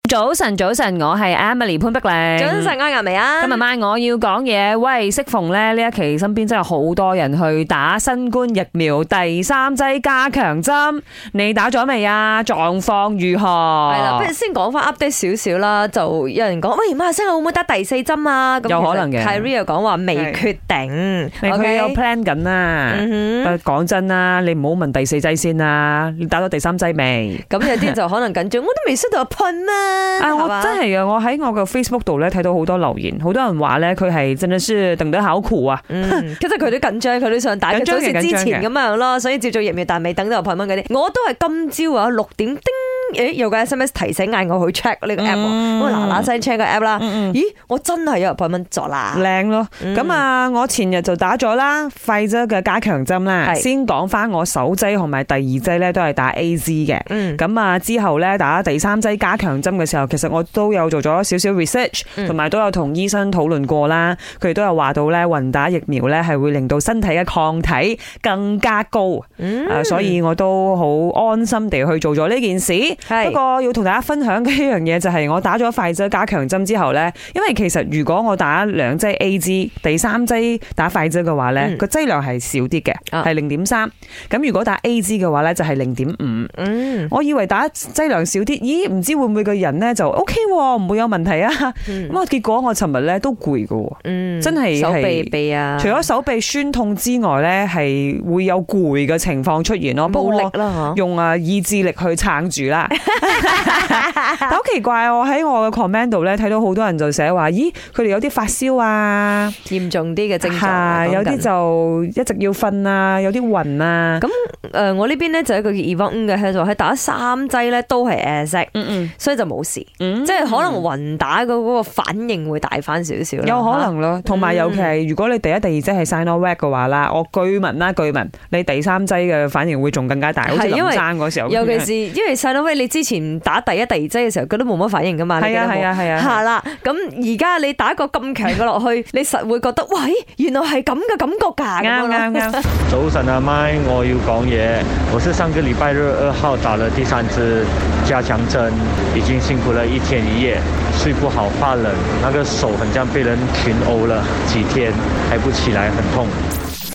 早晨，早晨，我係 Emily 潘碧玲。 早晨，我係咪啊？ 今日晚我要講嘢。喂，適逢咧呢一期身邊真係好多人去打新冠疫苗第3劑加強針，你打咗未啊？狀況如何？ 係啦，不如先講翻 update 少少啦。就有人講，喂，馬來西亞會唔會打第4針啊？ 有可能嘅。 Kyrie 又講話未決定， 佢有 plan 緊啦。講真啦，你唔好問第4劑先啦，你打咗第3劑未？ 咁有啲就可能緊張，我都未收到噴啊！ 我真係啊！我喺我嘅 Facebook 度咧睇到好多留言，好多人話咧佢係真係是等得好苦啊！ 其實佢都緊張，佢都想打，就好似之前咁樣咯，所以接種疫苗但未等到噴蚊嗰啲。我都係今朝啊6點叮，有個 SMS 提醒嗌我去 check 呢個 app， 我嗱嗱聲 check 個 app 啦。咦，我真係有噴蚊咗啦， 靚咯！咁啊，我前日就打咗啦，Pfizer嘅加強針啦。先講翻我首劑同埋第2劑咧都係打 AZ 嘅。咁啊之後咧打第3劑加強針嘅時候，其實我都有做咗少少 research， 同埋都有同醫生討論過啦。佢哋都有話到咧，混打疫苗咧係會令到身體嘅抗體更加高。所以我都好安心地去做咗呢件事。不過要同大家分享嘅一樣嘢就係我打咗快劑加強針之後咧，因為其實如果我打2劑 AZ， 第3劑打快劑嘅話咧，個劑量係少啲嘅，係0.3。咁如果打 AZ 嘅話咧就係0.5。我以為打劑量少啲，咦？唔知會唔會個人咧就 OK，唔會有問題啊？咁結果我尋日咧都攰㗎，真係手臂啊！除咗手臂酸痛之外咧，係會有攰嘅情況出現咯。 冇力啦， 用意志力去撐住啦。但好奇怪，我喺我嘅 comment 度咧睇到好多人就寫話，咦，佢哋有啲發燒啊， 嚴重啲嘅症狀， 有啲就一直要瞓啊，有啲暈啊。 咁我呢邊咧就有一個叫 Evon 嘅，佢就係打3劑咧都係 AZ，所以就冇事，即係可能暈打嗰個反應會大翻少少， 有可能咯。同埋尤其係如果你第1、第2劑係 Sinovac 嘅話啦，我據聞你第3劑嘅反應會仲更加大，好似林生嗰時候。 尤其是因為 Sinovac 你之前打第1、第2劑嘅時候，佢都冇乜反應噶嘛。 係啊。 係啦，咁而家你打個咁強嘅落去，你實會覺得，喂，原來係咁嘅感覺㗎。 啱。 早晨啊，MY，我要講嘢。我是上個禮拜日2號打了第3支加強針，已經辛苦了1天1夜，睡不好，怕冷，那個手很像被人群毆了幾天，抬不起來，很痛。